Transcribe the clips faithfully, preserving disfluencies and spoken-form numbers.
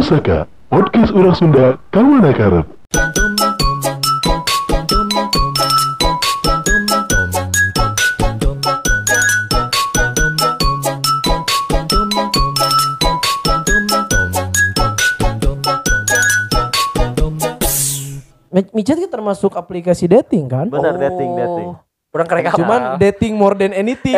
Pusaka, podcast orang Sunda, kawana karep. Micet kan termasuk aplikasi dating kan? Bener, dating, dating. Kurang kerek apa? Cuman dating more than anything.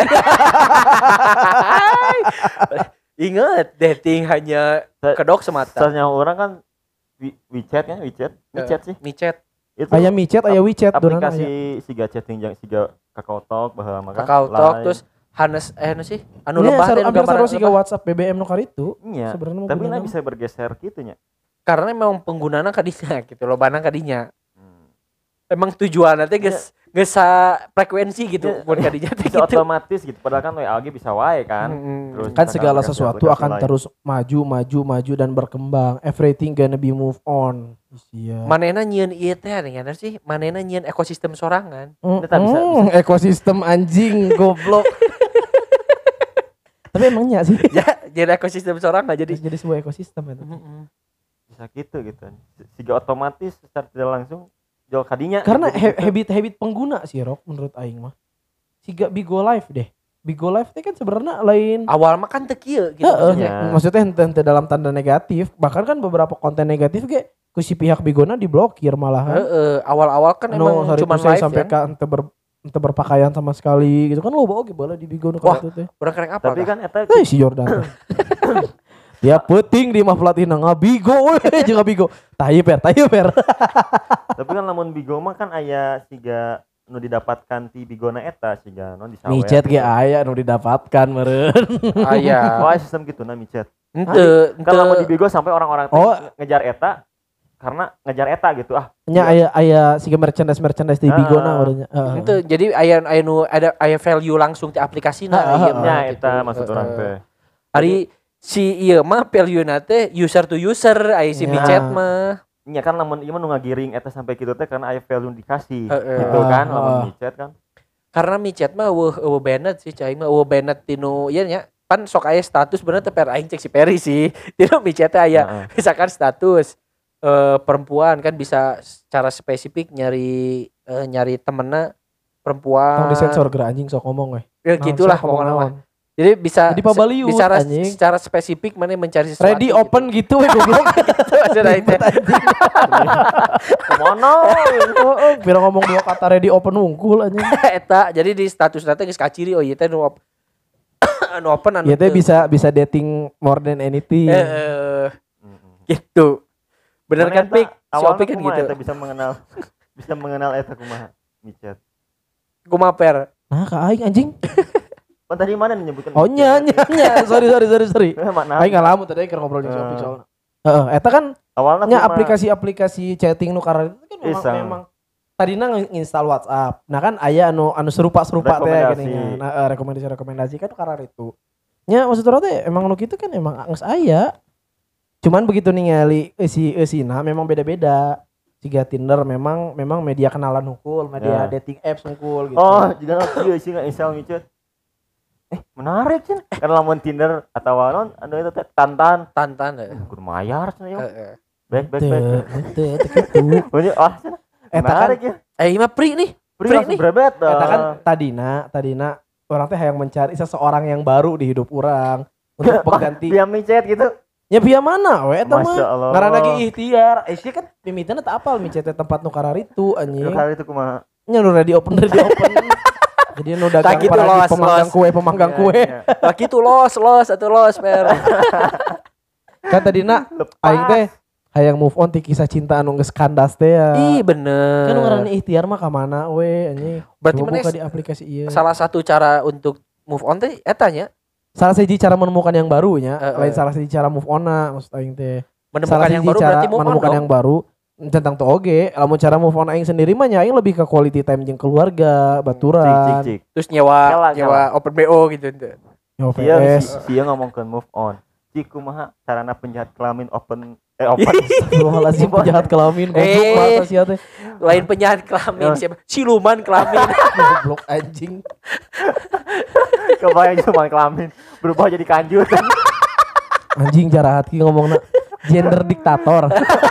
Ingat, dating hanya kedok semata. Soalnya orang kan Wi- WeChat kan, WeChat, WeChat sih. Micet, Itu Aya micet, aya WeChat, donana aya. aplikasi siga chatting jeung siga Kakao Talk baheula mah kan. Kakao Talk, Line. terus Hanes eh anu sih? Anu Nya lebah saru teh hampir gambar sarua siga lebah. WhatsApp B B M nu karitu. Iya. Sebenarnya mah Tapi gunana nah bisa bergeser gitu nya. Karena memang penggunana kadinya gitu, lobana kadinya. Hmm. Emang tujuannya teh geus geus sa frekuensi gitu Ya, buat kadinya teh Bisa gitu. otomatis gitu. Padahal kan W A G bisa wae kan. Mm-mm. Terus Kan misalkan segala aplikasi- sesuatu aplikasi akan lain. terus maju, maju, maju dan berkembang. Everything gonna be move on. Iya. Manehna nyieun ieu teh anu sih? Manehna nyieun ekosistem sorangan. Mm, Kita bisa- mm, ekosistem anjing goblok. Tapi emangnya sih Ya, jadi ekosistem sorangan jadi. jadi sebuah ekosistem itu. Mm-mm. Bisa gitu gitu. Siga otomatis secara tidak langsung jual kadinya. Karena gitu, he- gitu. habit-habit pengguna sih Rok menurut aing mah. Siga Bigo Live deh. Bigo Live teh kan sebenarnya lain. Awal mah kan teu kieu gitu Heeh, maksudnya. maksudnya. maksudnya ente, ente dalam tanda negatif. Bahkan kan beberapa konten negatif ge ku si pihak Bigona diblokir malahan. Heeh, awal-awal kan No, emang sorry cuma to say, live sampai kan. ka ente ber ente berpakaian sama sekali gitu kan lo bawa bola di Bigo nu Wah. itu teh. Kurang kerek apa? Tapi kan eta Eh si Jordan. teh. Dia penting di mah pelatih nang Bigo we jeung Bigo. Tahi per, tahi per. tapi kan lamun Bigo mah kan aya siga nu didapatkan ti Bigona eta siga non disawer. Micet ge aya nu didapatkan meureun. Aya. Oh, aya sistem gitu nah micet. Henteu, Kan lamun di henteu. Bigo sampai orang-orang teh Oh. ngejar eta karena ngejar eta gitu ah. Nya aya aya siga merchandise merchandise di Bigo na Ah. urangnya. Heeh. Henteu, jadi aya aya nu ada aya value langsung ti aplikasina Ah, ieu ah, mah. Nya gitu. eta maksud orang Heeh. teh. Ari si ieu mah value-na teh user to user aya si Ya. micet mah. Nya kan lamun ieu mah nu ngagiring eta sampai kitu teh karena aya value dikasih. Heeh. Gitu kan Ah, lamun ah. micet kan. Karena micet mah eueuh eueuh banned sih cai mah eueuh banned tinu ieu nya. Pan sok aya status bener teh per aing cek si Peri sih. Tinu micet teh aya Heeh. misalkan status eh, perempuan kan bisa secara spesifik nyari eh, nyari temennya perempuan. Tong disensor geura anjing sok ngomong we. Ya gitulah Naon, sok pokoknya mah. ngomong. Jadi bisa Jadi pabaliut, bisa anjing. secara spesifik mana mencari sesuatu. Ready open gitu we goblok. gitu maksudnya itu. Kemana? Heeh, pira ngomong dua kata ready open wungkul anjing. Eta jadi di status nanti geus kaciri oh ieu teh nu op- anu open anu Ya teh teu. bisa bisa dating more than anything. Heeh, gitu. Bener kan Pik? Si Awalnya Opik kan kumaha gitu. eta bisa mengenal bisa mengenal eta kumaha micet. Kumaha per? Nah, ka aing anjing. Oh tadi mana menyebutkan Oh nya nya nya. Sorry sorry sorry sorry. Eh, mana? Aing ngalamun tadi keur ngobrol jeung si Opik soalna. Heeh, eta kan Awalnya nya kumaha? aplikasi-aplikasi chatting nu karena itu kan memang Iseng. memang tadina nginstal WhatsApp. Nah kan aya anu anu serupa-serupa teh Rekomendasi. gini nya. Nah, eh, rekomendasi-rekomendasi kan karena itu. Nya maksud urang teh emang nu kitu kan emang geus aya. Cuman begitu ningali eusi eusina memang beda-beda. Siga Tinder memang memang media kenalan hukul, media Ya. dating apps hukul gitu. Oh, juga kieu sih nggak install micet. Eh, menarik sih. Karena lamun Tinder atau non anu itu teh tantan. Tantan heuh. Kudu mayar cenah ya. Heeh. Back back Teu, back. teu teu kitu. Pokoknya ah cenah. Eta kan Menarik ya. Eh ieu mah free nih. Free Free langsung nih. berebet. eta kan ah. tadina tadina orang teh hayang mencari seseorang yang baru di hidup orang untuk pengganti. Via micet gitu. Ya via mana we eta mah? Masya Allah. Ngaranna ge ikhtiar. Eh sih kan mimitina teu apal micet teh tempat nu kararitu anjing. Kali itu kumaha? Nya nu ready open ready open. Jadi nu dagang Tak gitu, para los, pemanggang los. kue pemanggang Iya, kue. iya. Lah kitu los los atuh los per. Kan tadina Lepas. aing teh hayang move on ti kisah cinta anu geus kandas teh ya. Ih bener. Kan nu ngaranna ikhtiar mah ka mana we anjing. Berarti Coba mana buka di aplikasi ieu. salah satu cara untuk move on teh eta nya Salah siji cara menemukan yang baru nya, Eh, lain eh. salah siji cara move on-na maksud aing teh. menemukan Salah yang siji baru cara berarti move on menemukan dong. yang baru tentang tuh oge, lamun cara move on aing sendiri mah nya aing lebih ke quality time jeung keluarga, Cik baturan, cik cik. Terus nyewa Kela, nyewa open B O gitu ente. nyawa Iya, P S. dia ngomongkeun move on. Cik kumaha sarana penjahat kelamin open eh open. Astagfirullahaladzim penjahat kelamin goblok Eh. mata sia teh. Lain penjahat kelamin Ya. siapa? Siluman kelamin. Goblok anjing. Kebayang cuma kelamin berubah jadi kanjut. Anjing jarak hati ngomongna. Gender diktator.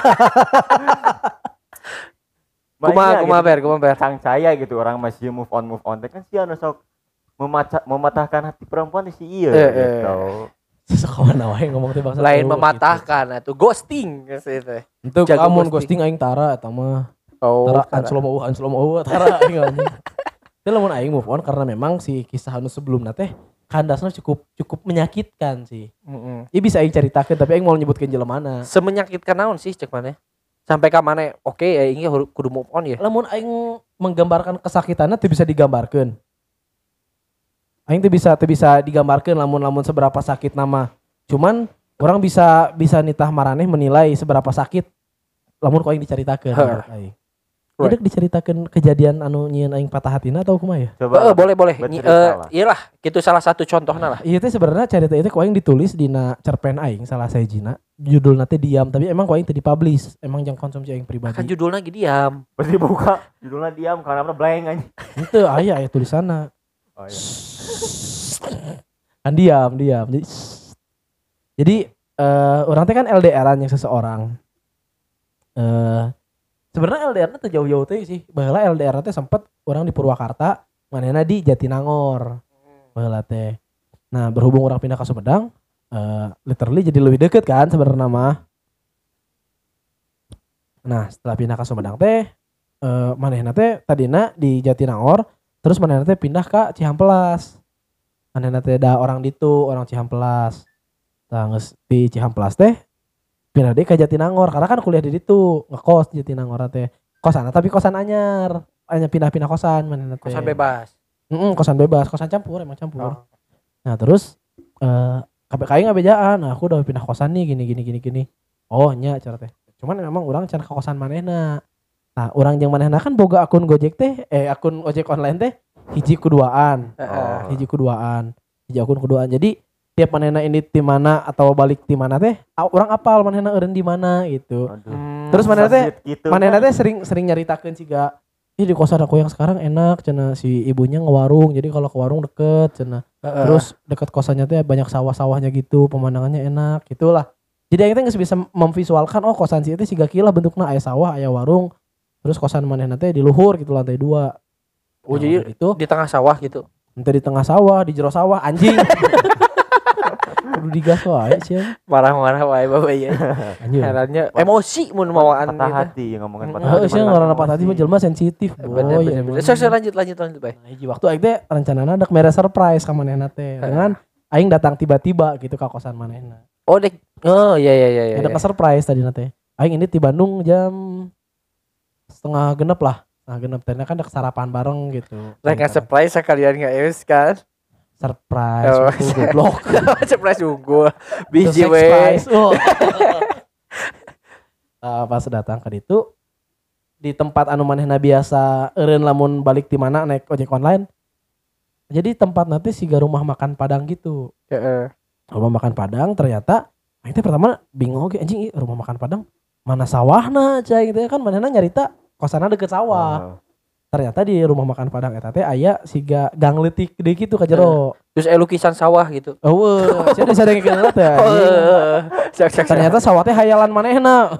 Kumaha kumaha ber, kumaha ber. Sang saya gitu orang masih move on move on teh kan sih anu sok memacah mematahkan hati perempuan si iya Eh, eh. gitu. Sekawan wae ngomong teh bangsa. Lain teu, mematahkan atuh ghosting geus teh. gitu. Itu Jago kamun ghosting. ghosting aing tara eta mah. Oh, Tara tara. anslomo eueuh anslomo eueuh tara aing anjing. Teu lamun aing move on karena memang si kisah anu sebelumna teh kandasna cukup cukup menyakitkan sih. Heeh. Ieu bisa aing caritakeun tapi aing mau nyebutkeun jelemana. Semenyakitkan naon sih cek maneh? Sampai ka maneh oke ya ini kudu move on ya. Lamun aing menggambarkan kesakitannya teu bisa digambarkeun. Aing teu bisa teu bisa digambarkeun lamun-lamun seberapa sakit nama. Cuman orang bisa bisa nitah maraneh menilai seberapa sakit lamun ku aing dicaritakeun. Heuh. menurut aing. Right. Jadi diceritakeun kejadian anu nyieun aing patah hatina atau kumaha ya? Coba Heeh, boleh boleh. Nyi- bercerita eh, lah. iyalah, gitu salah satu contohnya lah. Iya teh sebenarnya cerita itu ku aing ditulis dina cerpen aing salah sahijina. Judulna teh diam tapi emang ku aing teu dipublish. Emang jeung konsumsi aing pribadi. Kan judulnya lagi diam. Pasti buka judulnya diam karena apa blank aja. Henteu aya aya tulisanna. Oh iya. Kan diam diam jadi jadi eh orang teh kan L D R-an yang seseorang eh sebenarnya L D R-nya teh jauh-jauh teh sih baheula L D R teh sempet orang di Purwakarta manehna di Jatinangor baheula teh nah berhubung orang pindah ke Sumedang eh literally jadi lebih deket kan sebenarnya mah nah setelah pindah ke Sumedang teh eh manehna teh tadina di Jatinangor terus manehna teh pindah ke Cihampelas manehna teh da orang ditu orang Cihampelas tah geus di Cihampelas teh pindah deh ke Jatinangor karena kan kuliah di ditu ngekos di Jatinangor teh kosan tapi kosan anyar hanya pindah-pindah kosan manehna teh Kosan bebas. Heeh, kosan bebas kosan campur emang campur Oh. nah terus eh K P K I ngabejaan nah aku udah pindah kosan nih gini gini gini gini oh nya cara teh cuman memang orang can ke kosan manehna nah orang jeung manehna kan boga akun Gojek teh eh akun ojek online teh hiji kuduaan Heeh. hiji kuduaan hiji akun kuduaan jadi tiap manehna ini di mana atau balik di mana teh a- orang apal manehna eureun di mana gitu Aduh. Hmm. terus manehna teh Gitu manehna kan. teh sering sering nyaritakeun siga ih di kosan aku yang sekarang enak cenah si ibunya ngewarung jadi kalau ke warung deket cenah Heeh. terus deket kosannya teh banyak sawah-sawahnya gitu pemandangannya enak gitulah jadi aing teh geus bisa memvisualkan oh kosan si teh siga kieu lah bentukna aya sawah aya warung terus kosan manehna teh di luhur gitu lantai dua Oh, Nah, jadi udah gitu di tengah sawah gitu. ente di tengah sawah di jero sawah anjing kudu digas wae sih Marah-marah wae bapak ya. anjing Herannya emosi mun mawaan patah gitu. hati yang ngomongin Mm, patah heeh hati. sih ngaranna patah hati mah jelema sensitif Bener boy bener bener. Sok sok lanjut lanjut lanjut bae. Nah, hiji waktu aing teh rencanana dek mere surprise ka manehna teh dengan aing datang tiba-tiba gitu ka kosan manehna. Oh dek. Oh iya iya iya iya. Ada ke surprise tadi teh. Aing ini di Bandung jam setengah genep lah. Nah genep teh kan ada sarapan bareng gitu. Rek nggak surprise sekalian nggak eus kan? Surprise Oh, unggul goblok. Surprise unggul. Biji Terus we. surprise, oh. Ah, pas datang ke ditu di tempat anu manehna biasa eureun lamun balik di mana naik ojek online. Jadi tempat nanti siga rumah makan Padang gitu. Heeh. Rumah makan Padang ternyata aing teh pertama bingung oke anjing ieu rumah makan Padang mana sawahna cai gitu kan manehna nyarita kosanna deket sawah. Oh. Ternyata di rumah makan Padang eta teh aya siga gang leutik deui kitu ka jero. Terus eh lukisan sawah gitu. Eueuh, sia disadengkeun teh. Oh, sak sak. Ternyata sawah teh hayalan manehna.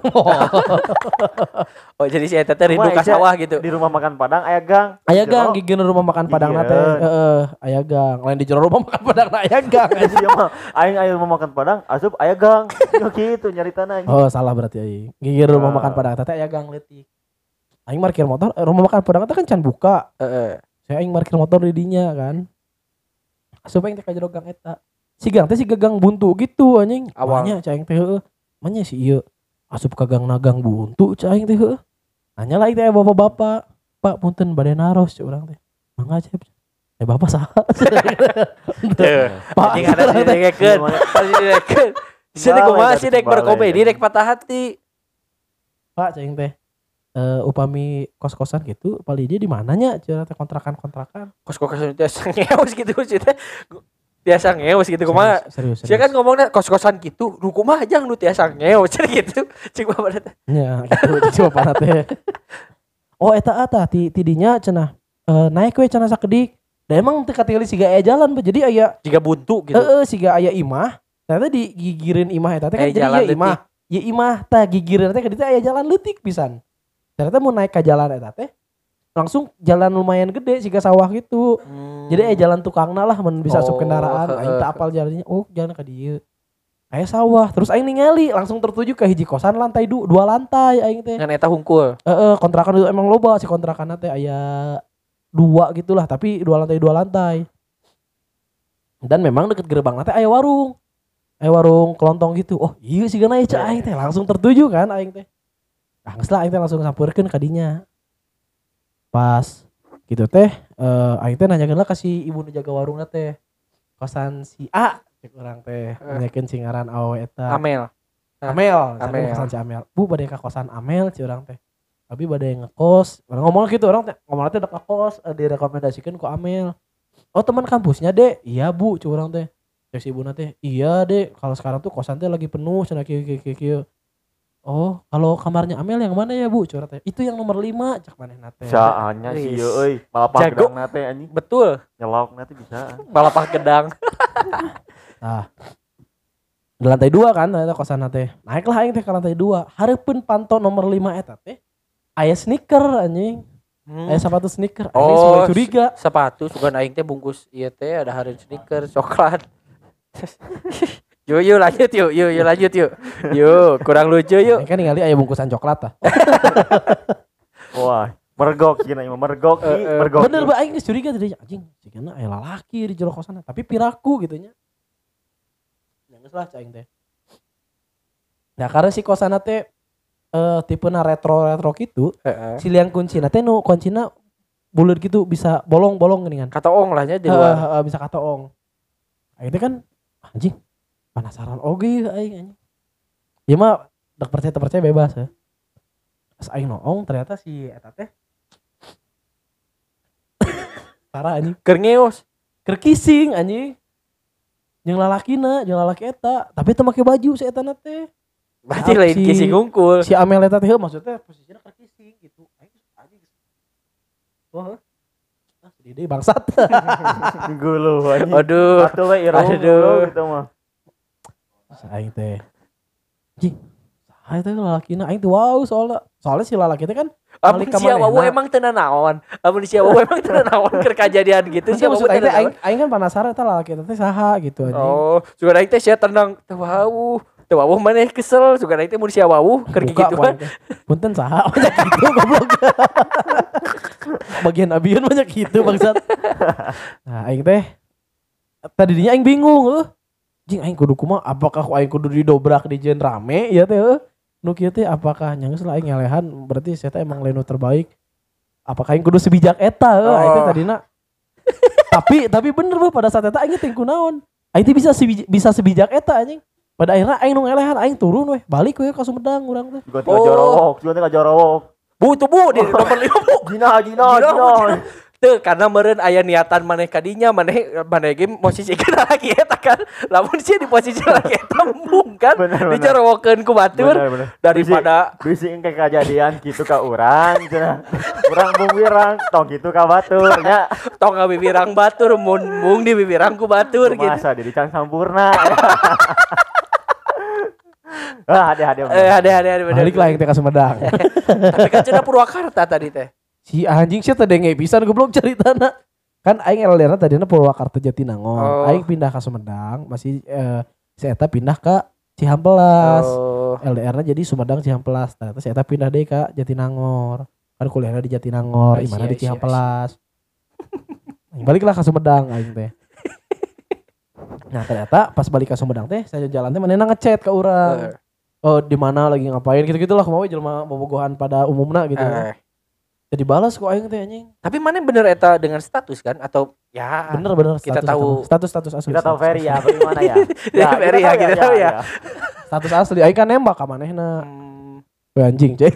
Oh jadi si eta teh rindu Kumaha, ka Ica? sawah gitu. Di rumah makan Padang aya gang. Aya Jero. gang gigieun rumah makan Padang na teh. Gigieun. Heeh, aya gang. Lain di jero rumah makan Padang na aya gang. Iya mah aing aya rumah makan Padang, asup aya gang. Yo kitu nyaritana anjing. Oh, salah berarti aing. Gigieun rumah Ah. makan Padang teh aya gang leutik. Aing parkir motor, eh, rumah makan Padang teh kan can buka. Heeh. Saya aing parkir motor di dinya kan. Asup aing teh ka jero gang eta. Si gang teh si gang buntu gitu anjing. Awal. Awalnya cai aing teh heueuh. Manya si ieu asup ka gang nagang buntu cai aing teh heueuh. Nanya lah teh bapak-bapak, Pak punten bade naros cai urang teh. Mangga cai. Eh bapak saha? Tuh. Pak Anjing ada di dekeun. Ada di dekeun. Sini Balai, kumaha sih tapi dek balai, berkomedi kan. dek patah hati. Pak cai aing teh. Eh upami kos-kosan gitu, paling dia di mananya cenah teh kontrakan-kontrakan. Kos-kosan biasa ngeus gitu sih teh. Biasa ngeus gitu kumaha. Serius, serius. Sia kan ngomongnya kos-kosan gitu, nu kumaha jang nu tiasa ngeus cenah gitu. Cik bapak teh. Ya, gitu coba teh. Oh eta eta ti tidinya cenah eh, naik we cenah sakedik. Da emang teu katingali siga aya jalan, Pak. Jadi aya Jika buntu gitu. heeh siga aya imah. Ternyata digigireun imah eta teh kan Eh, jadi jalan ieu imah. ya imah tah gigireun teh ka ditu aya jalan leutik pisan. Ternyata mau naik ke jalan eta teh langsung jalan lumayan gede siga sawah gitu. Hmm. Jadi aya jalan tukangna lah mun bisa asup Oh, kendaraan. Aing heeh. teu apal jalannya. Oh, jalan ka dieu. Aya sawah, terus aing ningali langsung tertuju ke hiji kosan lantai du, dua lantai aing teh. Ngan eta hungkul. Heeh, kontrakan itu emang loba si kontrakanna teh aya dua gitulah, tapi dua lantai dua lantai. Dan memang deket gerbang teh aya warung. Aya warung kelontong gitu. Oh, iya sih gana ya aing teh langsung tertuju kan aing teh. Ah, geus lah aing teh langsung sampeurkeun ka dinya. Pas gitu teh eh aing teh nanyakeun lah ka si ibu nu jaga warungna teh. Kosan si A cek urang teh nanyakeun si ngaran awewe eta. Amel. Amel, Amel. Amel. Kosan si Amel. Bu bade ka kosan Amel ci urang teh. Tapi bade ngekos. Orang ngomong gitu orang teh ngomong teh dek kos eh, direkomendasikeun ku Amel. Oh teman kampusnya dek. Iya bu ci urang teh. Terus si ibuna teh, iya dek kalau sekarang tuh kosan teh lagi penuh cenah kieu kieu kieu kieu. Oh, kalau kamarnya Amel yang mana ya bu? Curhat teh. Itu yang nomor lima cak manehna teh. Saanya sih Wis. euy, malapah Jago. gedang nate anjing. Betul. Nyelok nate bisa. Balapah gedang. Nah, di lantai dua kan ternyata kosan teh. Naiklah aing teh ke lantai dua. Hareupeun panto nomor lima eta teh aya sneaker anjing. Hmm. Aya sepatu sneaker. Aing Oh, mulai curiga. sepatu sugan aing teh bungkus ieu teh ada hareun sneaker coklat. Yuk yuk lanjut yuk yuk yuk lanjut yuk. Yuk, kurang lucu yuk. Aing kan ningali aya bungkusan coklat tah. Wah, mergok gini mah mergok Eh, ih, eh. mergok. Bener ba aing geus curiga tadi anjing. Cigana aya lalaki di jero kosan tapi piraku gitu nya. Ya geus lah cing teh. Nah, karena si kosan teh eh tipena retro-retro gitu, Heeh. si liang kuncina teh nu kuncina buleud gitu bisa bolong-bolong geuningan. Kata ong lah nya di Heeh, luar. heeh, bisa katoong. Aing teh kan anjing penasaran oge aing anjing. Ya mah dak percaya teu percaya bebas ya. Pas aing noong ternyata si eta teh parah anjing. Keur ngeos. Keur kissing anjing. Jeung lalakina, jeung lalaki eta, tapi teu make baju si eta teh. Berarti Si- lain kisi ngungkul. Si Amel eta teh maksudnya posisinya keur kissing gitu. Aing anjing. Wah. Ah, sedih deui bangsat. Gulu anjing. Aduh. Atuh we irung Aduh. gulu gitu mah. Aing teh. Anjing. Saha teh lalakina aing teh wow soalnya. Soalnya si lalaki teh kan Amun balik ka sia wawu manehna. emang teu naon. Amun sia wawu emang teu naon keur kajadian gitu Itu sia wawu maksud aing teu teh aing, naon. aing kan penasaran eta lalaki eta teh saha gitu anjing. Oh, sugan aing teh sia tenang teu wawu. Teu wawu maneh kesel sugan aing teh mun sia wawu keur Buka gitu ku aing teh. Punten saha banyak gitu goblok. Bagian abieun banyak gitu bangsat. Nah, aing teh tadinya aing bingung heuh. Jing aing kudu kumaha apakah aing kudu didobrak di jeun rame ya teh heuh. Nu kieu teh apakah nya geus lah aing ngelehan berarti saya teh emang lenu terbaik. Apakah aing kudu sebijak eta heuh aing teh Oh. tadina. tapi tapi bener beuh pada saat eta aing teh kunaon. Aing teh bisa sebij- bisa sebijak eta anjing. Pada akhirnya aing nu ngelehan aing turun weh balik weh ka Sumedang urang teh. Juga teh Oh. jorowok, juga teh jorowok. Bu tuh bu di nomor lima bu. Jina, jina, Jina, jina. Tuh karena meureun aya niatan maneh kadinya maneh maneh ge posisikeun laki eta kan. Lamun sia di posisi laki eta embung kan. Bener, bener. Dicorowokeun ku batur Bener, bener. daripada bisi engke kejadian gitu ka urang cenah. Urang bung wirang tong gitu ka batur nya. tong ngabibirang batur mun mung di bibirang ku batur gitu. Masa diri can sampurna. Ah, hade hade. Eh ade ade ade bener. Balik lah aing teh ka Sumedang. Tapi kan cenah Purwakarta tadi teh. Si anjing sia teh denge pisan goblok caritana. Kan aing L D R tadinya Purwakarta Jatinangor. Oh. Aing pindah ke Sumedang, masih eh, si eta pindah ke Cihampelas. Oh. L D R-na jadi Sumedang Cihampelas. Ternyata si eta pindah deh ke Jatinangor. Kan kuliahnya di Jatinangor, I see, imana I di see, I see. Cihampelas. Aing baliklah ke Sumedang aing teh. Nah, ternyata pas balik ke Sumedang teh, saya jalan teh manehna ngechat ke urang. Oh, di mana lagi ngapain gitu-gitulah kumaha we jelema bobogohan pada umumna gitu. Eh. Jadi balas kok aing teh anjing. Tapi mana bener eta dengan status kan atau ya Bener-bener kita status, tahu. status status asli. Kita tahu status Ferry asli. ya, bagaimana ya? Ya, Ferry ya, kita tahu ya. Status asli aing kan nembak ka manehna. Hmm, We anjing cek.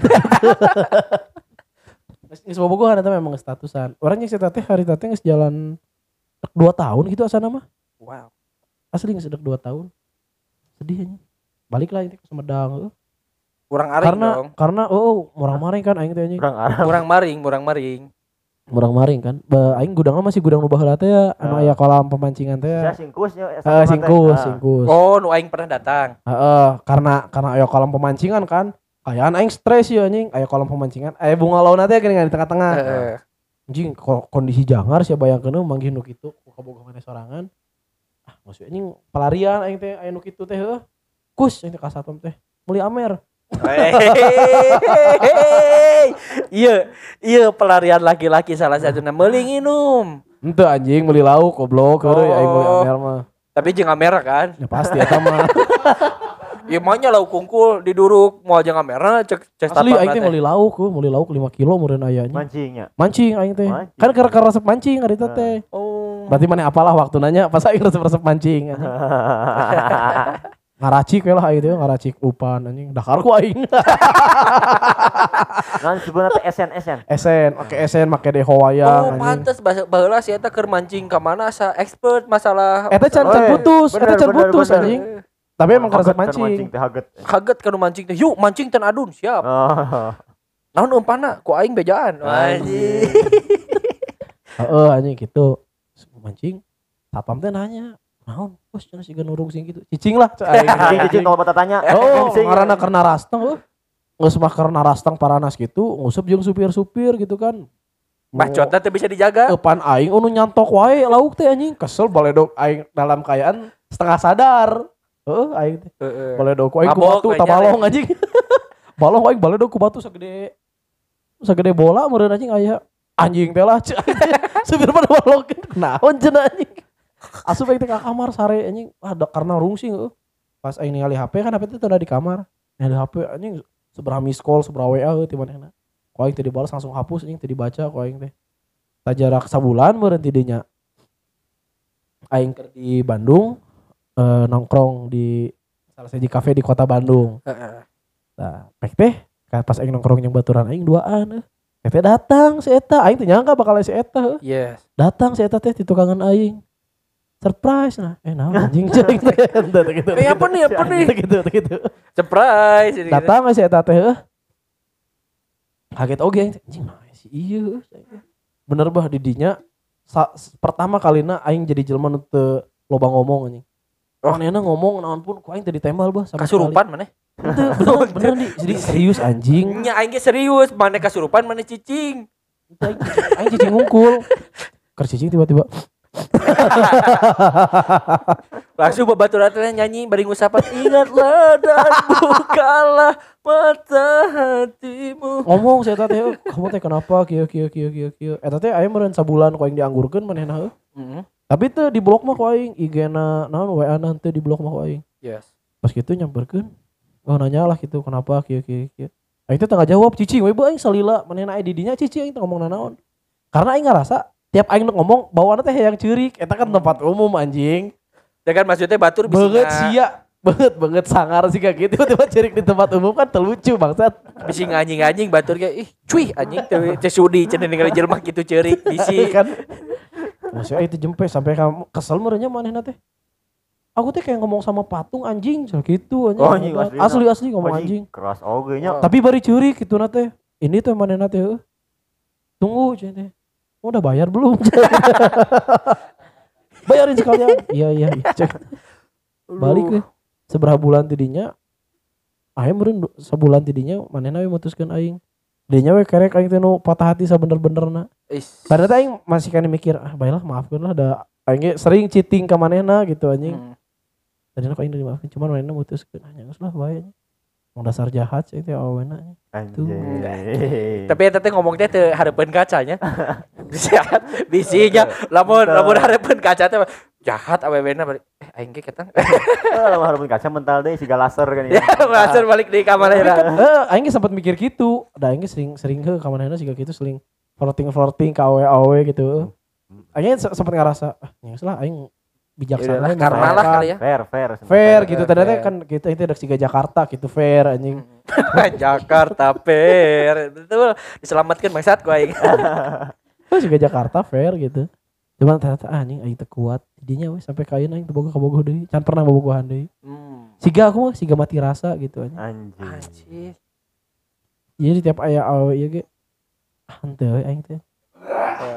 Geus geus bobogohan eta memang geus statusan. Orang yang cerita teh hari teh geus jalan dua tahun gitu asana mah. wow. Asli geus dua tahun. Sedih anjing. Balik lah itu ke Sumedang heuh. Kurang aring Karena dong. karena oh orang maring kan aing teh anjing. Kurang arah. Kurang maring, kurang maring. Murang maring kan. Ba aing gudangna masih gudang nu baheula teh ya, anu Ah. aya kolam pemancingan teh ya. Saya singkusnya. Heeh, singkus, singkus. Oh, nu aing pernah datang. Heeh, karena karena aya kolam pemancingan kan. Kayaan aing stres ya anjing, aya kolam pemancingan. Aya bunga laut teh geuning di tengah-tengah. Heeh. Anjing ko- kondisi jangar sia bayangkeun manggih nu kitu ku kabogoh maneh sorangan. Ah, maksud anjing pelarian aing teh aya nu kitu teh heuh. Kus aing teh ka satpam teh. Meuli amer. Hehehe. Iya, iya pelarian laki-laki salah satunya meuli nginum. Henteu anjing meuli lauk goblok heueuy aing meuli Oh. amer mah. Tapi jeung merah kan. Ya pasti eta mah. Ieu mah nya lauk kungkul diduruk moal jeung merah cek cek Asli tapak aing teh teh. meuli lauk, heuh, meuli lauk lima kilo meureun aya nya. Mancingnya. Mancing aing teh. Mancing. Kan keur keur resep mancing ari teh teh. Oh. Berarti maneh apalah waktu nanya pas aing resep-resep mancing anjing. Ngaracik we lah aing teh ngaracik upan anjing. Dakar ku aing. Nah sebenarnya teh esen esen. Esen, make esen, make deho Oh, wayang anjing. pantes baheula si eta keur mancing ka mana asa expert masalah Eta can Oh, can eh, putus, eta bener, can bener, putus bener. anjing. Tapi emang resep Haget, mancing. teh haget. kaget kanu mancing teh. Yuk mancing ten adun siap. Oh. Naon umpana ku aing bejaan. Anjing. Heeh anjing gitu. Mancing. Satpam teh nanya, "Naon? Bos cenah siga nurung sing gitu." Cicing lah cek aing. Cicing cicing kalau bata tanya. Oh, Cicing. ngaranna karena rastang heuh. Geus mah karena rastang paranas gitu, nguseup jeung supir-supir gitu kan. Bacotna teh bisa dijaga. Eupan aing unu nyantok wae lauk teh anjing. Kesel baledog aing dalam kayaan setengah sadar. Heeh aing teh. Heeh. Baledog ku aing ku Mabok, batu we tabalong anjing. Balong aing baledog ku batu sagede sagede bola meureun anjing aya. Anjing teh lah. Supir pada balong naon cenah anjing. Asup aing teh ka kamar sare anjing. Ah da, karena rungsing heuh. Pas aing ningali H P kan H P teh teu ada di kamar. Ningali H P anjing seberapa miss call, seberapa W A heuh ti manehna. Ku aing teh dibalas langsung hapus anjing teh dibaca ku aing teh. Ta jarak sabulan meureun ti dinya. Aing keur di Bandung eh, nongkrong di salah siji kafe di kota Bandung. Heeh. Nah, pek teh ka- pas aing nongkrong jeung baturan aing duaan. Pek teh datang si eta, aing teh nyangka bakal si eta. heuh. Yes. Datang si eta teh di tukangan aing. Surprise nah. Eh naon anjing ceuing teh. Teu teu gitu. Eh apa nih apa nih? Teu gitu teu gitu. Surprise. ini. Datang we si eta teh heuh. Kaget oge aing teh, anjing nah si ieu. Bener bah di dinya sa- pertama kalina aing jadi jelema nu teu loba ngomong anjing. Oh. Manehna ngomong naon pun ku aing teu ditembal bah sama sekali. Kasurupan maneh. Henteu, bener bener di jadi serius anjing. Nya aing ge serius, maneh kasurupan maneh cicing. Aing aing cicing ngungkul. Keur cicing tiba-tiba Langsung babaturan teh nyanyi bari ngusapan ingatlah dan bukalah mata hatimu. ngomong si eta teh "Eh, kamu teh kenapa kieu kieu kieu kieu kieu." Eta teh aya meureun sabulan ku aing dianggurkeun manehna heuh. Heeh. Tapi teu di blok mah ku aing, I G-na naon W A-na teu di blok mah ku aing. Yes. Pas kitu nyamperkeun. Oh nanya lah gitu kenapa kieu kieu kieu. Aing teh tengah jawab cicing we aing salila manehna aya di dinya cicing aing teh ngomong naon. Karena aing ngarasa tiap aing ngomong bawaanna teh hayang ceurik, eta kan tempat umum anjing. Ya kan maksudnya batur bisa Banget sia, banget banget sangar sih kayak gitu tiba-tiba ceurik di tempat umum kan terlucu bangsat. bisi anjing-anjing batur kayak ih cuy anjing teh teh sudi cenah ningali jelema kitu ceurik bisi. kan. Maksudnya itu jempe sampai kamu kesel merenya manehna teh. Aku teh kayak ngomong sama patung anjing so gitu anjing. Oh, anjing, asli asli, asli, ngomong anjing. Keras oge nya. Tapi bari ceurik gitu na teh. Ini tuh manehna teh. heuh. Tunggu cenah teh. Oh, udah bayar belum? Bayarin sekalian. Iya iya iya. Cek. Balik deh. Seberapa bulan tidinya aing meureun du- sebulan tidinya manehna we mutuskeun aing. Dinya we kerek aing teh nu patah hati sabener-benerna. Is. Padahal teh aing masih kan mikir, ah baiklah maafkeun lah da aing ge sering cheating ka manehna gitu anjing. Hmm. Tadina kok aing dimaafkeun cuman manehna mutuskeun ah geus lah bae. Mau dasar jahat sih teh awena. Anjing. Tapi eta teh ngomong teh teu hareupeun kacanya. Jahat bisinya lamun lamun hareupeun kaca teh jahat awewena balik eh aing ge ketang. Kalau harus kaca mental deh siga laser kan Ya langsung balik di kamar Tapi kan era. eh aing ge sempat mikir gitu. Da aing ge sering sering heuh ka manehna siga gitu sering flirting-flirting ka awe-awe gitu. Aing se- sempat ngerasa ah geus lah aing bijaksana Yaudahlah, we karma lah misalkan. kali ya. Fair, fair. Fair gitu Fair, ternyata fair. kan kita itu ada siga Jakarta gitu fair anjing. Jakarta Fair. Betul diselamatkan bangsat ku aing. Terus juga Jakarta fair gitu. Cuman ternyata ah, anjing aing teu kuat. Jadinya we sampai kain aing teu boga kabogoh deui. Can pernah bobogohan deui. Hmm. Siga aku mah siga mati rasa gitu anjing. Anjing. Anjir. Jadi tiap aya awe ieu ge ah henteu we aing teh.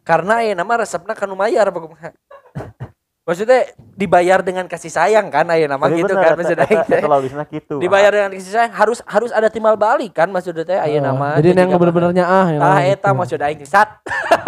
Karena ya nama resepna kan mayar apa kumaha. Maksudnya dibayar dengan kasih sayang kan aya nama Tapi gitu bener, kan eta- maksudnya eta- teh. eta logisna gitu. Dibayar dengan kasih sayang harus harus ada timbal balik kan maksudnya teh aya Eh, nama. jadi yang bener-benernya ah yang Tah gitu. eta maksud aing sat.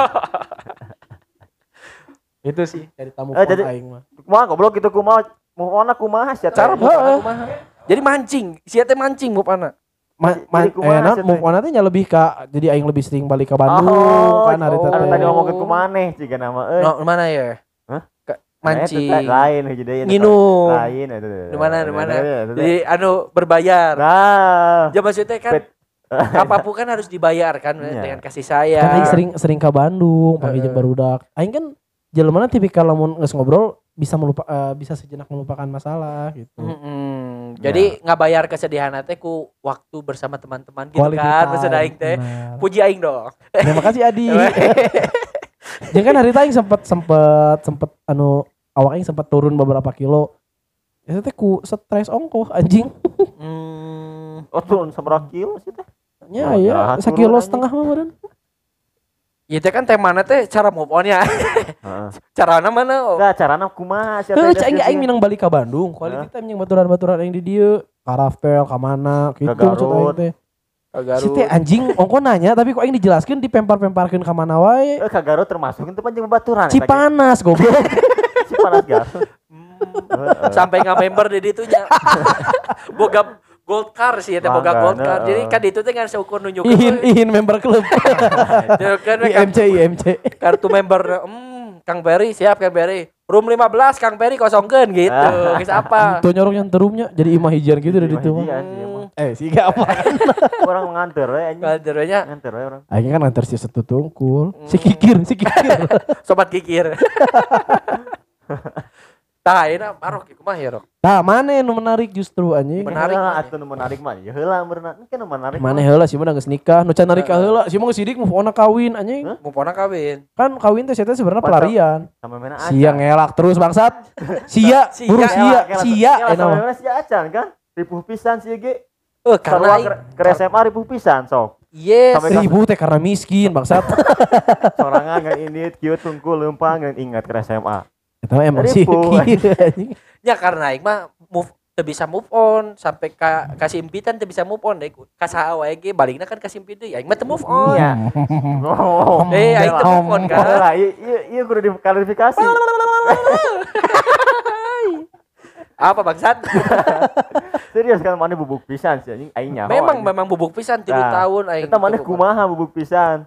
Itu sih dari tamu Eh, jadi- aing mah. Kumaha goblok gitu kumaha move on kumaha sia Cara teh. move on kumaha. Jadi mancing, sia teh mancing move on. Ma, Jadi ma, kumaha eh, nah, sih, move teh? on nanti nya lebih ke jadi aing lebih sering balik ke Bandung Oh, kan hari oh. teh. Anu tadi ngomong ke kumaneh ciga nama euy. No, mana ya? Hah? Ke- Nah, eta Mancing. teh lain hiji deui. Nginum. Lain eta. Di mana di mana? Eta teh. Jadi anu berbayar. Nah. Ya maksudnya kan Bet- apapun kan harus dibayar kan Iya. dengan kasih Kan aing sayang. sering sering ke Bandung panggil Heeh. jeung barudak. Aing kan jelema tipikal lamun geus ngobrol bisa melupa eh, bisa sejenak melupakan masalah gitu. Mm-mm. Jadi nggak bayar kesedihan teh ku waktu bersama teman-teman gitu Quality kan. time, Maksud aing teh. benar. Puji aing dong. Terima kasih Adi. Jeung kan hari teh aing sempet sempet sempet anu awak aing sempet turun beberapa kilo. Itu teh ku stres ongkoh anjing. Hmm. Oh turun sabaraha kilo sih teh? Ya Oh, ya, jahat sekilo turun, setengah mah meureun. Ya teh kan temana teh cara move on ya. Heeh. Carana mana? Oh. Enggak carana kumaha sia Heuh, teh. cai aing minang balik ke Bandung. Quality time jeung baturan-baturan aing di dieu. Ka Raftel, ka mana gitu Ka maksud aing Garut. teh. Si Garut. teh anjing ongko nanya tapi kok aing dijelaskeun dipempar-pemparkeun ka mana wae. Eh ka Garut termasuk itu panjang baturan. Cipanas goblok. Cipanas Garut. Hmm. Sampai nggak member di ditunya. Boga gold car sih ya teh boga Mangga, gold car. nah, Jadi eh. kan di itu teh kan seukur nunjukeun. Ihin ihin member klub. Jadi kan I M C I M C. kartu member hmm Kang Berry siap Kang Berry. Room lima belas Kang Berry kosongkeun gitu. Geus apa? Tuh nyorok yang terumnya jadi imah hijian gitu dari itu mah. Iya sih emang. Eh sih gak apa. Orang nganter we anjing. Ngajarnya Nganter we orang. Aing kan antar si setu tungkul. Si kikir, si kikir. sobat kikir. Tah ayeuna marok ieu kumaha ya rok? Nah, mana yang menarik justru anjing? Menarik. Heula atuh nu menarik mah. Ya heula beurna. Kan nu menarik. Mana heula sih mah geus nikah, nu can nikah heula, sih mah geus sidik move on kawin anjing. Hah? Mupona kawin. Kan kawin teh eta sebenarnya Masa- pelarian. Sama mana aja. Sia ngelak terus bangsat. Sia, Sia, buru sia, sia Ya eta sama mah. mana sia acan kan? Ripuh pisan sih ge. Eh Karena karena ke S M A ripuh pisan sok. yes. Sampai kelas- Ribu teh karena miskin bangsat. Sorangan ngan ini kieu tungkul leumpang ngan ingat ke S M A. Eta mah emang sih Ribu. anjing. Ya karena aing mah move teu bisa move on sampai ka kasih impitan teu bisa move on deh. Ka saha wae ge balikna kan kasih impi deui. Aing mah teu move on. Iya. Oh. Eh aing teu move on kan. Lah, iya iya iya kudu diklarifikasi. Apa bangsat? Serius kan mana bubuk pisan sih anjing aing nyaho. Memang anjing. memang bubuk pisan tilu Nah, tahun aing. Eta mana teu move on. kumaha bubuk pisan?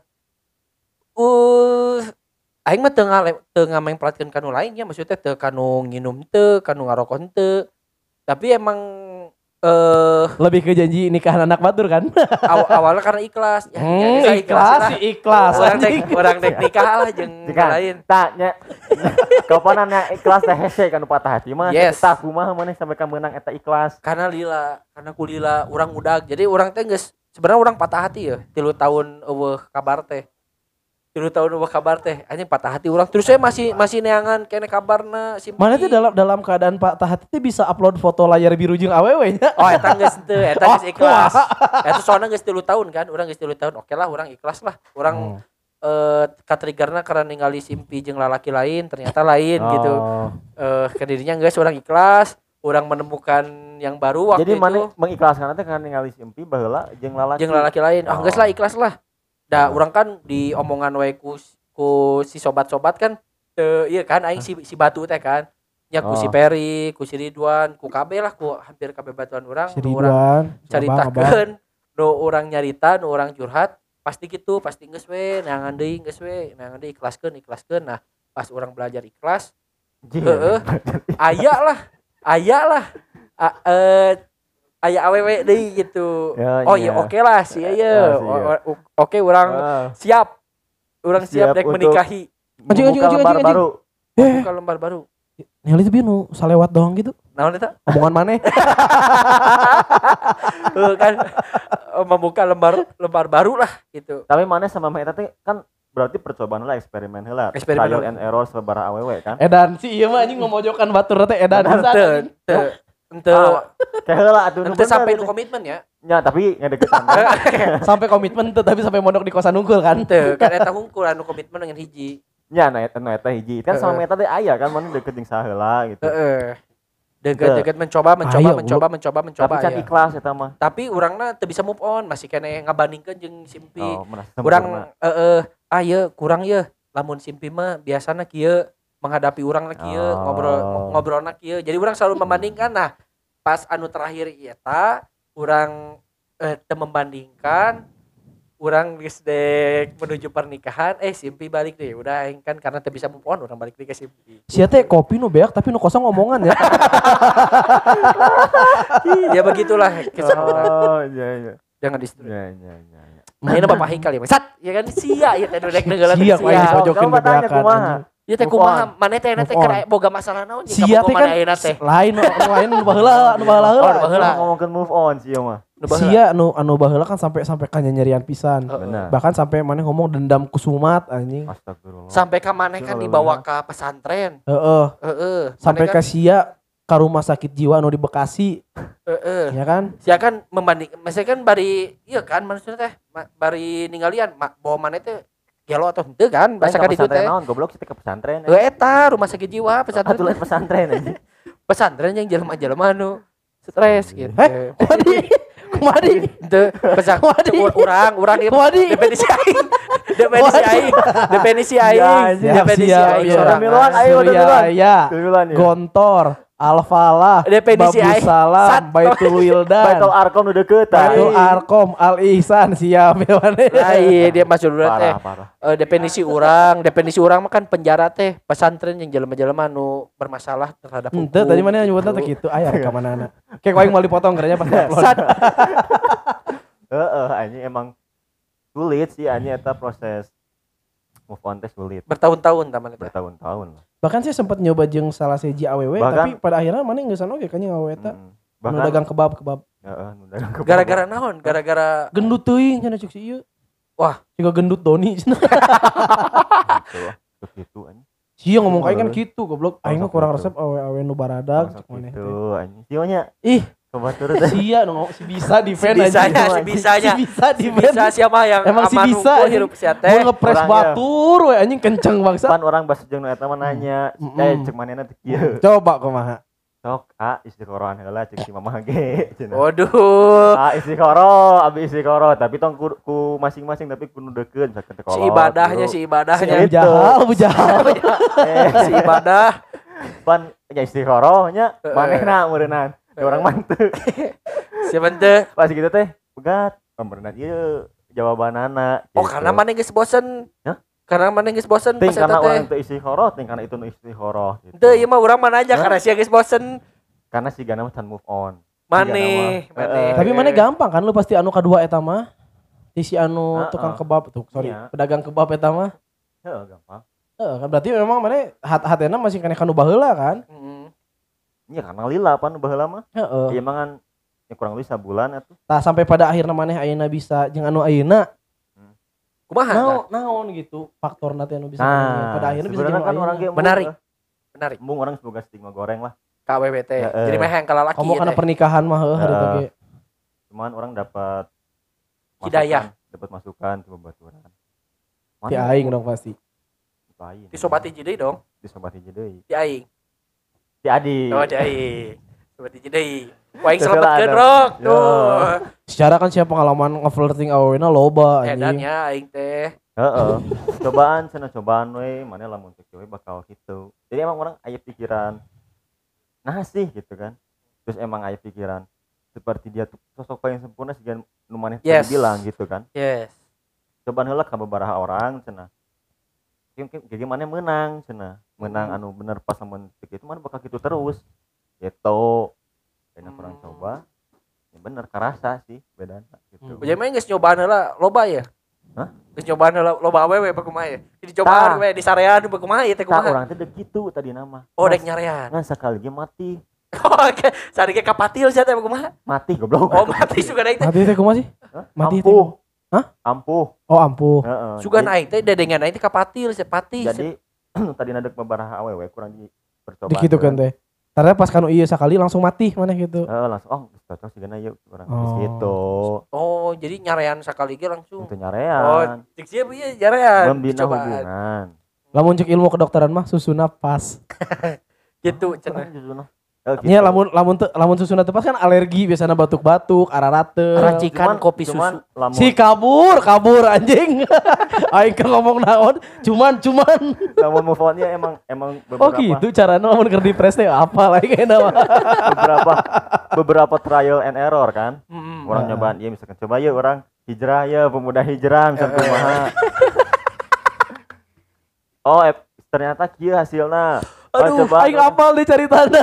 Uh aing mah teu ngale teu ngamengplatkeun kanu lain ya maksudnya teu kanu nginum teu, kanu ngarokok teu. Tapi emang eh Lebih ke janji nikahan anak batur kan? aw- awalnya karena ikhlas. Ya, Hmm, ya, ya, ikhlas lah. sih ikhlas. Orang anjing. dek orang dek nikah lah jeung Jika lain. tanya kapanana ikhlas teh hese kan patah hati mah Yes. tah kumaha maneh sampai ka meunang eta ikhlas. Karena lila, karena kulila orang udag. Jadi orang teh geus sebenarnya orang patah hati ya. Tilu tahun eueuh kabar teh. Tilu tahun eueuh kabar teh. Anjing patah hati orang. Terus saya masih masih neangan kene kabarna si Mana tuh dalam dalam keadaan Pak Tahat itu bisa upload foto layar biru jeung awewe nya. Oh eta geus teu, eta geus Oh, ikhlas. Eta soalnya geus tilu tahun kan. Urang geus tilu tahun. Oke lah urang ikhlas lah. Urang eh katriggerna karena ningali simpi jeung lalaki lain ternyata lain gitu. Oh. Eh kedirinya geus urang ikhlas. Urang menemukan yang baru waktu Jadi itu. mana mengikhlaskan teh kan ningali simpi baheula jeung lalaki. Jeung lalaki lain. Ah geus lah ikhlas lah. Da urang kan di omongan wae ku, ku si sobat-sobat kan teu ieu kan aing si si Batu teh kan. Ya ku si Oh. Peri, ku si Ridwan, ku kabeh lah ku hampir kabeh batuan urang. Si Nu urang Ridwan, caritakeun, nu urang nyarita, nu urang curhat, pasti gitu, pasti geus we, neangan deui geus we, neangan deui ikhlaskeun, ikhlaskeun. Nah, pas urang belajar ikhlas, heeh. Aya lah, aya lah. A- eh aya awewe deui gitu. Ya, Oh iya. iya oke lah sih Ya, ya. sih, ya. Oke urang Ah, siap. Urang siap, Siap dek untuk- menikahi. Anjing, anjing, membuka anjing, lembar anjing, baru. Buka lembar baru. Nyali itu nu salewat doang gitu. Naon eta? Omongan maneh. Eh, kan eh, membuka lembar lembar baru lah gitu. Tapi mana sama Mah eta teh kan berarti percobaan lah eksperimen heula. Eksperimen Trial heula. and error sabaraha awewe kan. Edan si ieu mah anjing ngomojokan batur teh edan. Ente ente ente Kayak heula atuh nu ente bener sampai nu teh. komitmen ya. nya tapi ngadeketan. Sampai komitmen tuh tapi sampai mondok di kosan unggul kan. Teu kan eta hungkul anu komitmen dengan hiji. Nya na eta na eta hiji. Kan sama eta teh aya kan mana deket jeung saheula gitu. Heeh. Deket-deket mencoba mencoba Ayo, mencoba mencoba mencoba Tapi can aya. ikhlas eta mah. Tapi urangna teu bisa move on, masih kene ngabandingkeun jeung Simpi. Oh, merasa sempurna. Urang heeh, ah ieu kurang ieu. Lamun Simpi mah biasana kieu menghadapi urang na kieu, Oh. ngobrol ngobrolna kieu. Jadi urang selalu membandingkan. Nah, pas anu terakhir eta urang eh, teu membandingkan, urang geus dek menuju pernikahan, eh Simpi balik deh. Udah aing kan karena teu bisa move on, urang balik deui ke Simpi. Sia teh kopi nu beak tapi nu kosong omongan ya. Ya begitulah kisah urang. Oh, iya iya. Jangan disetujui. Iya iya iya. iya. Mainnya Bapak Hikal ya, Sat, ya kan sia ya teh dek neugeulana Sia ku aing sia. pojokeun Coba tanya bebeakan kumaha. anjing. Ieu teh Move kumaha? on. Maneh teh teh Move kira boga masalah naon jeung Sia kabogo teh kan maneh ayeuna teh. lain nu lain nu baheula, nu baheula Oh, heula. nu baheula. Ngomongkeun move on sih mah. Nu baheula. Sia nu anu baheula kan sampai sampai kanyanyerian pisan. Heeh. Benar. Bahkan sampai maneh ngomong dendam kusumat anjing. Astagfirullah. Sampai ka maneh kan dibawa ke pesantren. Heeh. Heeh. Sampai Maneh ke kan- sia ka rumah sakit jiwa anu di Bekasi, heeh. ya kan? Sia kan membanding, maksudnya kan bari iya kan maksudnya teh ma- bari ninggalian ma, bawa maneh teh gelo atau henteu kan bahasa kan itu teh. Naon goblok sih teh ke pesantren. Heuh eta rumah sakit jiwa pesantren. Atuh lain pesantren aja. Pesantren yang jelema-jelema anu stres gitu. Eh, kumadi? Kumadi? Henteu pesan Wadi. urang urang ieu Wadi. definisi aing. Definisi aing. Definisi aing. Ya, Definisi siap, aing siap. sorangan. Miluan, ayo, Surya Miluan. Aya, Miluan ya. Gontor, Alfalah, Definisi Babu aing. Salam, Sat. Baitul Wildan, Baitul Arkom udah deket. Baitul Arkom, Al Ihsan, siap ya mana? Lain dia masuk dulu teh. Parah parah. Eh, definisi orang, definisi orang mah kan penjara teh pesantren yang jelema-jelema nu bermasalah terhadap hukum. Ente tadi mana nyebutnya teh gitu. gitu, aya rekaman anak. Kayak kau yang mau dipotong kerjanya pas upload. Sat. Heeh, anjing emang sulit sih anjing eta proses move on teh sulit. Bertahun-tahun taman eta. Bertahun-tahun lah. Bahkan saya sempat nyoba jeung salah seji awewe, Bahkan- tapi pada akhirnya mana nggak oge kan yang awewe eta. Mm-mm. Nu dagang kebab kebab. heeh, nu dagang kebab. Gara-gara naon? Gara-gara Gendut teuing cenah cuk si ieu. Wah. Juga gendut Doni. gitu ya. Terus gitu anjing. Sia ngomong kayak kan gitu goblok. Aing mah Langsung kurang gitu. resep awe-awe nu baradag Langsung cuk maneh gitu teh. anjing. Sionya Ih, coba turun teh. sia nu ngomong si bisa di fan bisanya, si anjing. bisanya. Si bisa di Si fan. bisa siapa yang Emang si aman bisa, unggul anjing. hirup sia Mau teh. ngepres Orangnya. batur we anjing kenceng bangsa. Pan orang bahasa jeung nu eta mah nanya, Mm-mm. eh cek manehna teh kieu. Coba kumaha. Sok a istiqorohan heula cek si mamah ge cenah. Waduh. Ah istiqoroh, abi istiqoroh, tapi tong ku, ku masing-masing tapi kudu deukeut misalkan teh Si ibadahnya, si Si ibadahnya. Abu Jahal, Abu Jahal. eh Si ibadah. pan nya istiqoroh nya Heeh. manehna meureunnan. Heeh. Orang manteu. Siapa teh? Pas gitu teh pegat pemberenang ieu jawabanana. Oh, gitu. karena mana geus bosen. Hah? Karena mana geus bosen ting pas eta karena teh. orang teu istiqoroh, ting karena itu nu istiqoroh gitu. Teu ieu mah urang mana aja Hah? karena sia geus bosen. Karena si Gana mah can move on. Maneh, Iya, maneh. nama. Tapi mana gampang kan lu pasti anu kedua eta mah. Di si anu Heeh. tukang kebab tuh, sorry, Iya. pedagang kebab eta mah. Heeh, gampang. Heeh, kan berarti memang mana hat-hatena masih kena kanu baheula kan? Mm. Iya karena lila pan baheula mah. Heeh. Iya mah kan ya kurang lebih sabulan atuh. Tah sampai pada akhirnya maneh ayeuna bisa jeung anu ayeuna Kumaha? naon naon gitu faktorna teh anu bisa Nah, maneh. pada akhirnya bisa sebenarnya jeung kan anu orang ayeuna. ge Menarik. Menarik. Embung orang semoga stigma goreng lah. K W B T. Heeh. Jadi mah yang kalalaki Kamu kana teh. pernikahan mah heuh hari Heeh. ge. Cuman orang dapat Hidayah. masukan, dapat masukan ke babaturan. Ti aing dong pasti. Lain. Di sobat hiji deui dong. Di sobat hiji deui. Di aing. Di Adi. Oh, di aing. Sobat hiji deui. Ku aing Terus selametkeun ada. rok. Yo. Tuh. Secara kan siapa pengalaman ngeflirting awena loba Edan anjing. ya aing teh. Heeh. Cobaan cenah cobaan we, mana lamun cek we bakal gitu. Jadi emang orang aya pikiran nah sih gitu kan. Terus emang aya pikiran seperti dia tuh sosok paling sempurna sih nu maneh tadi Yes. bilang gitu kan. Yes. Cobaan heula ka babaraha orang cenah. Mungkin kayak gimana menang cenah. Menang Hmm. anu bener pas lamun cek itu mana bakal gitu terus. Gitu. Karena Hmm. orang coba ya bener karasa sih bedana gitu. Hmm. Jadi mah geus nyobaan heula loba ya. Hah? Geus nyobaan heula loba awewe pa kumaha ya. Jadi cobaan Tah. we di sarean pa kumaha ieu teh Tak kumaha. orang teh dek gitu tadi nama. Oh dek nyarean. Ngan sekali ge mati. Oke, sari ge kapatil sia teh pa kumaha. Mati goblok. Oh mati sugan aing teh. Mati teh kumaha sih? Hah? Mati teh. ampuh. Hah? Ampuh. Oh ampuh. Heeh. Sugan aing teh dedengan aing teh kapatil sia pati. Jadi tadi nadek babaraha awewe kurang di percobaan. Dikitu kan teh. Karena pas kanu ieu sakali langsung mati mana gitu. Heeh, langsung oh geus cocok sigana yuk urang Oh. geus gitu. Oh, jadi nyarean sekali ge langsung. Itu Oh, nyarean. cek sieu ieu nyarean. Membina Cobaan. hubungan. Lamun cek ilmu kedokteran mah susuna pas. Gitu Cenah cenah. justru. Oh, gitu. Nya lamun lamun teu lamun susuna teu pas kan alergi biasana batuk-batuk, ararate. Racikan kopi susu. cuman lamun Si kabur, kabur anjing. Aing keur ngomong naon, cuman cuman. lamun move on-nya emang emang Oh beberapa gitu caranya lamun keur dipres teh apa lagi kayaknya mah. beberapa beberapa trial and error kan. Mm-mm. Orang Nah. nyobaan iya misalkan coba ya orang hijrah ya pemuda hijrah misalkan Eh, eh. kumaha. Oh, eh, ternyata kieu hasilna. Oh, Aduh, coba aing apal deh caritana.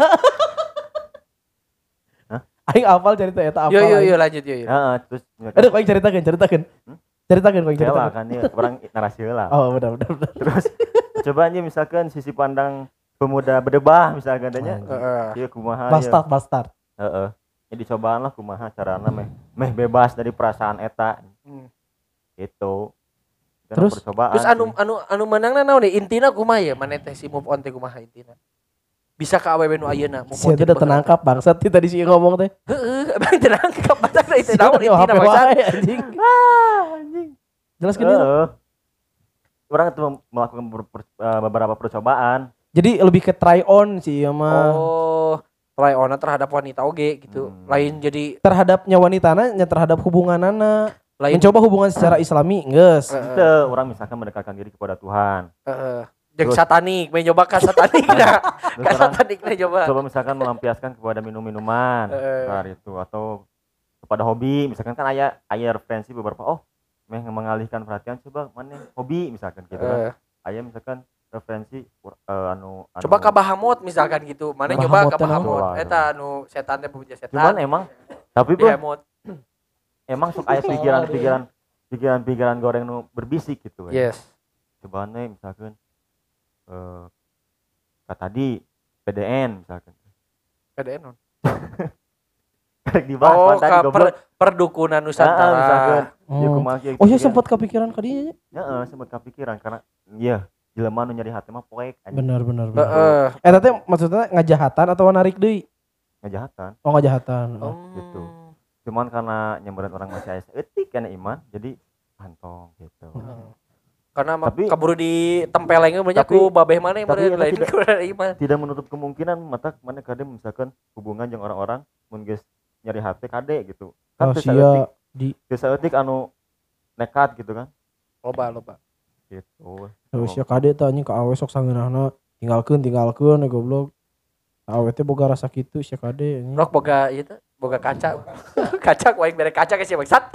Hah? Aing apal cerita eta apal. Yo yo aing. yo lanjut yo yo. Heeh, terus misalkan Aduh, aing ceritakeun, ceritakeun. Hmm? Ceritakeun aing Heula ceritakeun. kan ya orang narasi heula. Oh, benar benar benar. Terus coba aja misalkan sisi pandang pemuda berdebah misalkan tanya. Heeh. Ieu kumaha ya. Bastard, bastard. Heeh. Ya dicobaan lah kumaha carana meh meh bebas dari perasaan eta Hmm. gitu. Itu Terus? percobaan. Terus anu sih. anu anu menangna naon deh intina kumaha ya maneh teh si move on teh kumaha intina. Bisa ka awewe nu ayeuna move on. Sia teh udah tenangkap bangsat ti tadi sih ngomong teh. Heeh, abang tenangkap batak teh itu Sia naon teh nyawa intina H P bangsat. wae anjing. Jelaskeun dulu. Heeh. Orang itu melakukan ber- per- eh, beberapa percobaan. Jadi lebih ke try on sih ya mah. Oh, try on terhadap wanita oge gitu. Hmm. Lain jadi Terhadapnya wanitana nya terhadap hubunganana. lain Mencoba hubungan secara islami geus. Heeh. Itu orang misalkan mendekatkan diri kepada Tuhan. Heeh. Jeung Terus- satanik, main nyoba ka satanik dah. Terus Ka orang satanik na coba. coba misalkan melampiaskan kepada minum-minuman Heeh. kelar itu atau kepada hobi misalkan kan ayah ayah referensi beberapa oh meh mengalihkan perhatian coba mana hobi misalkan gitu kan. Heeh. Ayah misalkan referensi eh, anu, anu Coba ka Bahamut misalkan gitu. Mana nyoba ka Bahamut teh naon? Bahamut. Betul. Eta anu setan teh punya setan. cuman emang tapi Di bro Hamut. emang sok aya pikiran-pikiran pikiran-pikiran goreng nu berbisik gitu ya. Yes. Coba nih misalkan eh kata tadi P D N misalkan P D N non. karek dibahas Oh, pan tadi ka goblok. per, perdukunan Heeh, Nusantara. misalkan ieu Oh. kumaha kieu Oh iya gitu kan. sempat kepikiran ka dieu. Heeh, sempat kepikiran karena iya jelema nu nyari hati mah poek anjing Benar benar benar. Heeh. Eta teh maksudnya ngajahatan atau narik deui? ngejahatan. Oh ngajahatan. Oh. Hmm. gitu. Cuman karena nyamperin orang masih aya etik kan iman jadi pantong gitu. Karena mah Tapi- kaburu ditempelengnya banyak tapi- ku babeh mana yang tapi meureun eta lain tidak- ku iman. Tidak menutup kemungkinan mata mana kade misalkan hubungan jeung orang-orang mun geus nyari hati kade gitu. Oh Kan teu sia saeutik, di teu saeutik anu nekat gitu kan. Loba loba. Gitu. terus ya kade teh anjing ka awe sok sangeunahna tinggalkeun tinggalkeun ya goblok. Awe teh boga rasa kitu sia kade anjing. Rok boga ieu teh boga kaca. Kaca ku aing bere kaca ke si bangsat.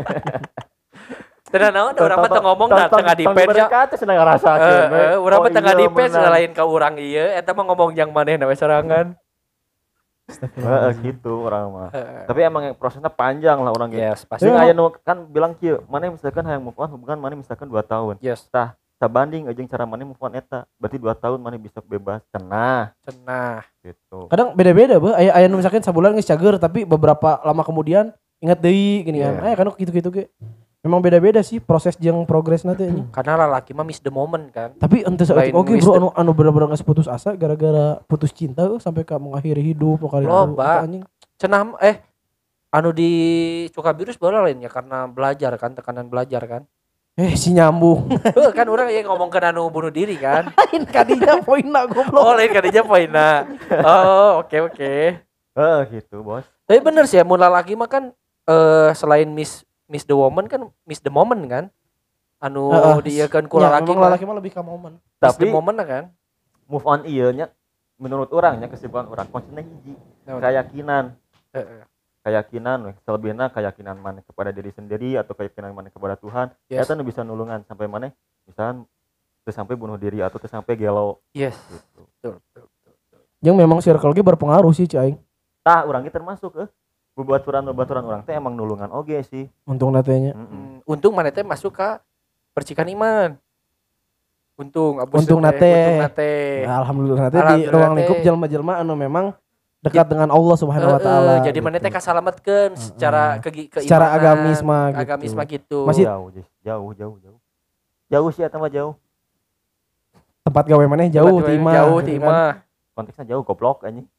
Tenan naon urang mah teu ngomong da tengah dipens ya. Kata senang ngarasakeun. Heeh, urang mah tengah iya, dipens bener. lain ka urang ieu eta mah ngomong jang manehna we sorangan. Heeh gitu orang mah. Heeh. Tapi emang yang prosesnya panjang lah orang gitu. Yes, pasti. Pasti aya nu kan bilang kieu, mana misalkan hayang move on hubungan mana misalkan dua tahun. Yes, Tah, sabanding jeung cara mana move on eta. Berarti dua tahun mana bisa bebas. Cenah cenah. gitu. Kadang beda-beda beuh aya aya nu misalkan sabulan geus cager tapi beberapa lama kemudian ingat deui gini kan. Iya. Aya kan kitu-kitu ge. Memang beda-beda sih proses jeung progres nanti anjing. Karena lelaki mah miss the moment kan. Tapi ente saeutik Lain oke miss bro the- anu anu bener-bener geus putus asa gara-gara putus cinta euy sampai ka mengakhiri hidup kali itu. Loba. Eta anjing. Cenah eh anu di Cukabirus bola lain ya karena belajar kan tekanan belajar kan. Eh si nyambung. Heuh, kan orang yang ngomongkeun anu bunuh diri kan. Lain kadinya poinna goblok. Oh lain kadinya poinna. Oh oke oke. Heeh gitu, Bos. Tapi bener sih ya mun lalaki mah kan eh selain miss miss the woman kan miss the moment kan. Anu Heeh. dieukeun ku Ya, lalaki memang mah lalaki mah lebih ka momen. miss the Tapi moment lah kan. move on ieu nya menurut orangnya kesimpulan orang konsepnya hiji. Keyakinan, Heeh. keyakinan weh. Selebihna keyakinan mana kepada diri sendiri atau keyakinan mana kepada Tuhan. Yes. Eta nu bisa nulungan sampai mana misalkan teu sampai bunuh diri atau teu sampai gelo Yes. gitu. Betul, betul, betul. Yang memang circle ge berpengaruh sih cai. Tah urang ge termasuk eh bebaturan-bebaturan orang teh emang nulungan oge sih. Untung natenya. Mm-mm. Hmm, untung mana teh masuk ke percikan iman. Untung abus Untung teh, nate. untung nate. Ya, alhamdulillah nanti di Alhamdulillah ruang teh. lingkup jelma-jelma anu memang dekat dengan Allah Subhanahu wa Heeh, taala. jadi mana teh kasalametkeun secara ke keimanan, Secara agamis mah gitu. agamis mah gitu. Masih- jauh Jis. jauh jauh jauh. Jauh sih eta mah jauh. tempat gawe maneh jauh ti imah. Jauh gitu ti kan. imah. Konteksnya jauh goblok anjing.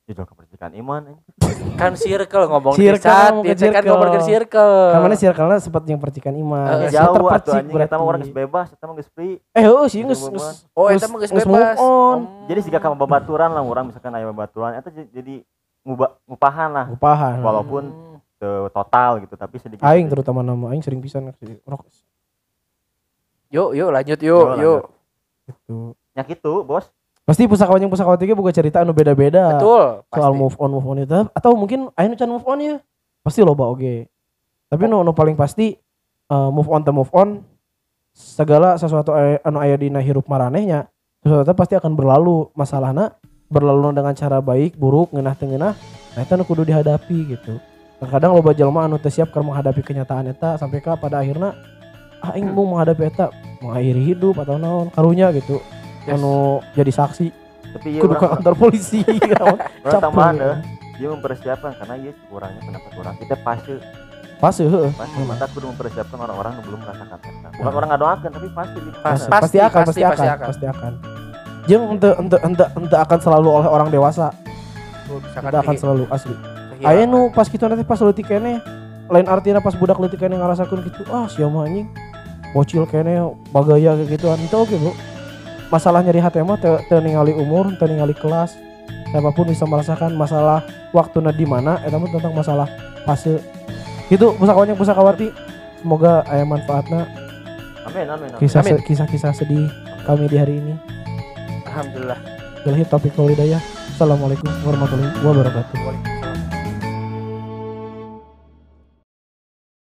Judul kepercikan iman. Kan circle ngomong Circle, saat ngomong ke itu kan circle. ngomong ke circle. Kamana circle-na sempat yang percikan iman. Eh, Saya Jauh atuh terpercik anjing eta mah orang geus berarti. bebas, eta mah geus free. Eh heuh sih Geus geus move on. geus. Oh eta mah geus geus bebas. move on. Hmm. Jadi siga ka babaturan lah orang misalkan aya babaturan eta j- jadi ngubah ngupahan lah Upahan. walaupun Hmm. teu total gitu tapi sedikit. Aing terutama nama aing sering pisan sih rok Yuk yuk lanjut Yuk, yuk yuk. gitu. nya gitu, Bos. Pasti pusakawan yang pusakawati ge boga cerita anu beda-beda. Betul. Soal pasti. move on move on itu atau mungkin aya nu can move on ya. Pasti loba oge. Tapi nu nu paling pasti eh, move on teh move on segala sesuatu aya- anu aya dina hirup maranehnya sesuatu pasti akan berlalu. Masalahna berlalu dengan cara baik, buruk, ngeunah teu ngeunah. Nah eta nu kudu dihadapi gitu. Terkadang loba jalma anu teu siap keur menghadapi kenyataan eta sampai ka pada akhirna ah aing mau menghadapi eta mengakhiri hidup atau naon karunya gitu. Yes. Anu jadi saksi Tapi ieu kudu ka urang kantor polisi. urang Capek. tambahan deh. Dia mempersiapkan karena ieu kurangnya pendapat orang. Kita pasti Pasti heeh. pasti mata kudu mempersiapkan orang-orang yang belum merasakan eta. Bukan orang ngadoakeun tapi pasti di Pasti, Pasti, pasti akan, pasti, pasti, pasti akan, akan. pasti akan. Jeung ente ente ente ente akan selalu oleh orang dewasa, Tuh, misalkan ente akan kehi- selalu asli. kehilangan. Aya nu pas kitu nanti pas leutik keneh, lain artinya pas budak leutik keneh ngarasakeun gitu, ah sia mah anjing. Bocil keneh bagaya kayak gituan. Itu oke, Bu. Masalah nyeri hati mah teu teu ningali umur, teu ningali kelas. Siapapun bisa merasakan masalah waktuna di mana eta mah tentang masalah fase. Gitu pusakawanya pusakawati. Semoga aya manfaatna Amin amin amin. kisah Amin. kisah-kisah sedih kami di hari ini. Alhamdulillah. Billahi taufiq wal hidayah. Assalamualaikum warahmatullahi wabarakatuh.